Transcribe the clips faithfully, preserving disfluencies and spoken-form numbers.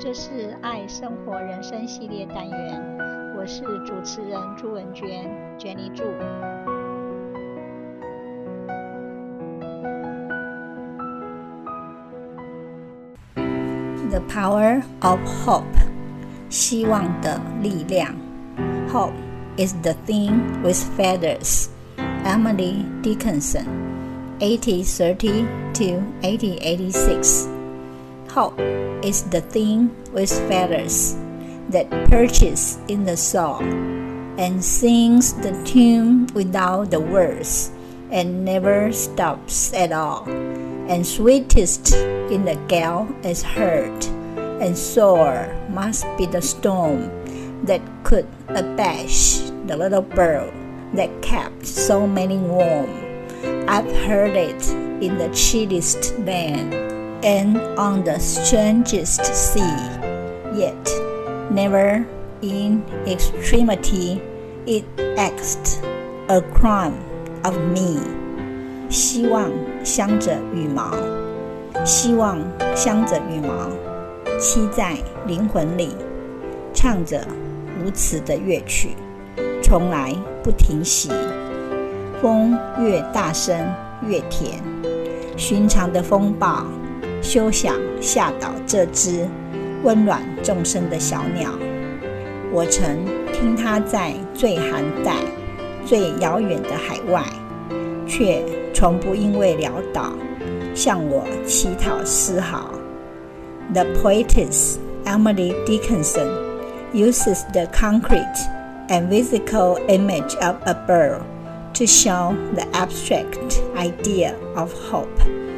這是愛生活人生系列單元，我是主持人朱文娟 Jenny 朱。The power of hope， 希望的力量。 Hope is the thing with feathers. Emily Dickinson, eighteen thirty to eighteen eighty-six. Hope is the thing with feathers that perches in the soul and sings the tune without the words and never stops at all, and sweetest in the gale is heard, and sore must be the storm that could abash the little bird that kept so many warm. I've heard it in the chilliest land and on the strangest sea, yet never in extremity it asked a crumb of me. 希望鑲着羽毛，希望鑲着羽毛，栖在靈魂裡，唱着無詞的樂曲，從來不停息。風越大聲越甜，尋常的風暴休想嚇倒這隻溫暖眾生的小鳥。我曾聽它在最寒帶、最遙遠的海外，卻從不因為潦倒向我乞討絲毫。The poetess Emily Dickinson uses the concrete and physical image of a bird to show the abstract idea of hope.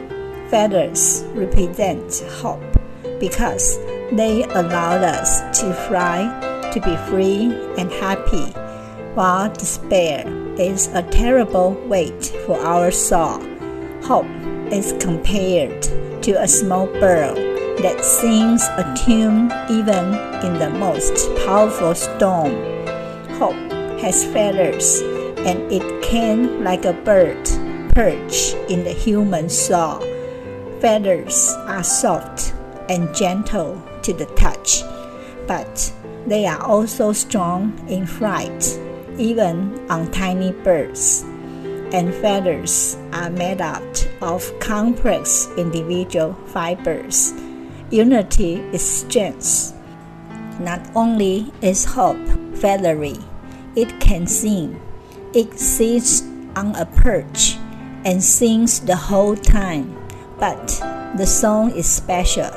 Feathers represent hope because they allow us to fly, to be free and happy, while despair is a terrible weight for our soul. Hope is compared to a small bird that sings a tune even in the most powerful storm. Hope has feathers, and it can, like a bird, perch in the human soul. Feathers are soft and gentle to the touch, but they are also strong in flight, even on tiny birds. And feathers are made out of complex individual fibers. Unity is strength. Not only is hope feathery, it can sing. It sits on a perch and sings the whole time, but the song is special,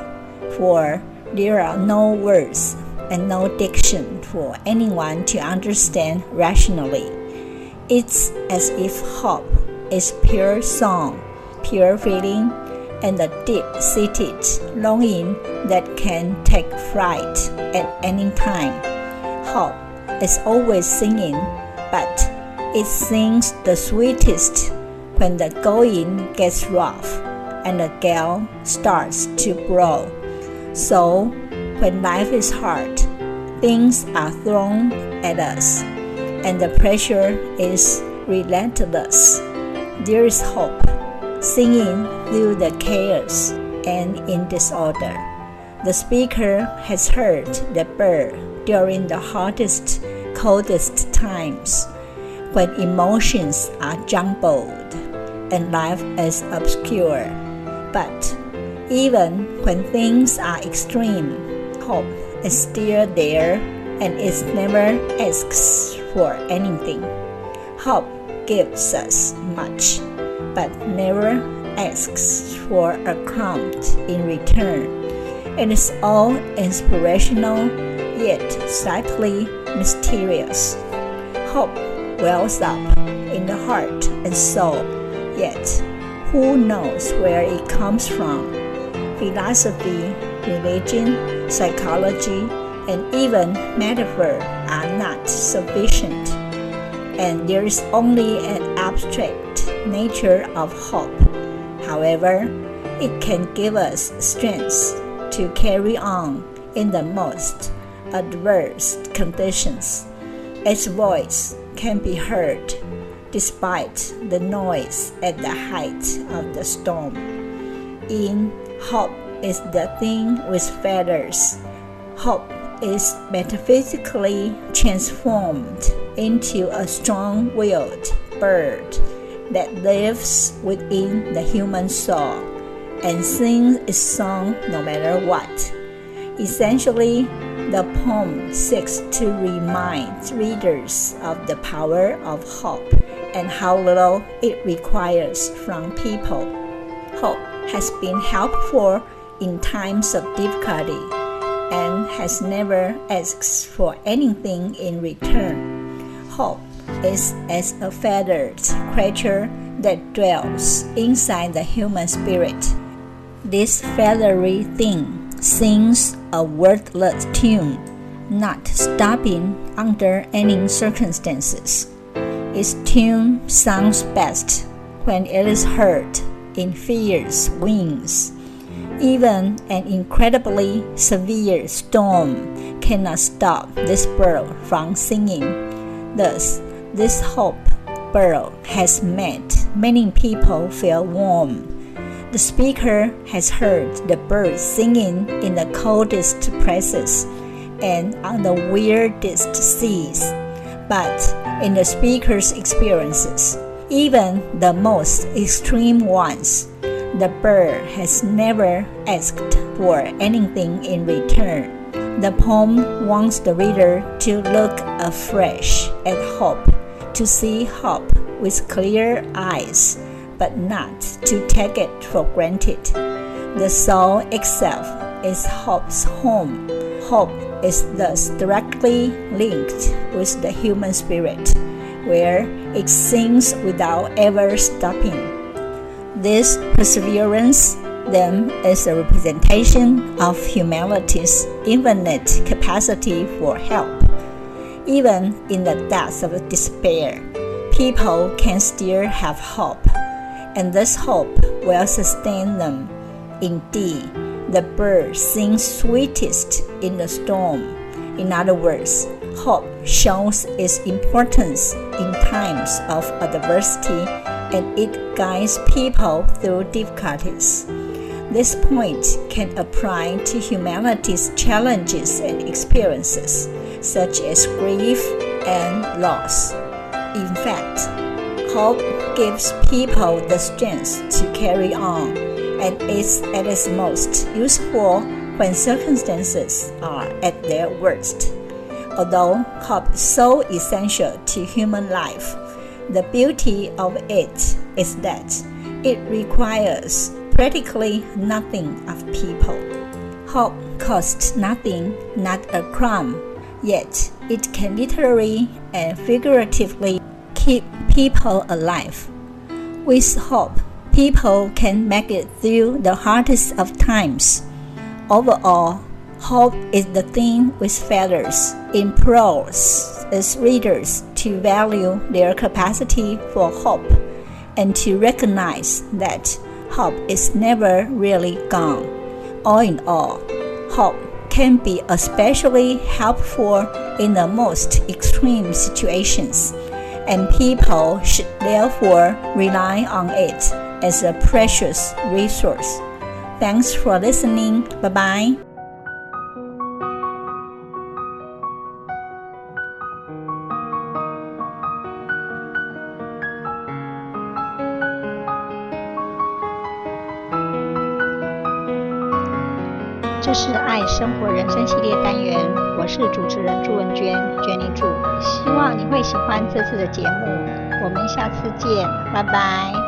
for there are no words and no diction for anyone to understand rationally. It's as if hope is pure song, pure feeling, and a deep-seated longing that can take flight at any time. Hope is always singing, but it sings the sweetest when the going gets rough and the gale starts to blow. So, when life is hard, things are thrown at us, and the pressure is relentless. There is hope, singing through the chaos and in disorder. The speaker has heard the bird during the hottest, coldest times, when emotions are jumbled and life is obscure. But even when things are extreme, hope is still there, and it never asks for anything. Hope gives us much, but never asks for a crumb in return. It is all inspirational, yet slightly mysterious. Hope wells up in the heart and soul, yet who knows where it comes from? Philosophy, religion, psychology, and even metaphor are not sufficient, and there is only an abstract nature of hope. However, it can give us strength to carry on in the most adverse conditions. Its voice can be heard despite the noise at the height of the storm. In hope is the thing with feathers Hope is metaphysically transformed into a strong-willed bird that lives within the human soul and sings its song no matter what. Essentially, the poem seeks to remind readers of the power of hope and how little it requires from people. Hope has been helpful in times of difficulty and has never asked for anything in return. Hope is as a feathered creature that dwells inside the human spirit. This feathery thing sings a wordless tune, not stopping under any circumstances. Its tune sounds best when it is heard in fierce winds. Even an incredibly severe storm cannot stop this bird from singing. Thus, this hope bird has made many people feel warm. The speaker has heard the bird singing in the coldest places and on the weirdest seas. But in the speaker's experiences, even the most extreme ones, the bird has never asked for anything in return. The poem wants the reader to look afresh at hope, to see hope with clear eyes, but not to take it for granted. The soul itself is hope's home. Hope is thus directly linked with the human spirit, where it sings without ever stopping. This perseverance, then, is a representation of humanity's infinite capacity for help. Even in the depths of despair, people can still have hope, and this hope will sustain them. Indeed, the bird sings sweetest in the storm. In other words, hope shows its importance in times of adversity, and it guides people through difficulties. This point can apply to humanity's challenges and experiences, such as grief and loss. In fact, hope gives people the strength to carry on, and is at its most useful when circumstances are at their worst. Although hope is so essential to human life, the beauty of it is that it requires practically nothing of people. Hope costs nothing, not a crumb, yet it can literally and figuratively keep people alive. With hope, people can make it through the hardest of times. Overall, hope is the thing with feathers, implores its readers to value their capacity for hope and to recognize that hope is never really gone. All in all, hope can be especially helpful in the most extreme situations, and people should therefore rely on it as a precious resource. Thanks for listening. Bye-bye. 這是愛生活人生系列單元，我是主持人朱文娟，娟妮祝，希望你會喜歡這次的節目，我們下次見，拜拜。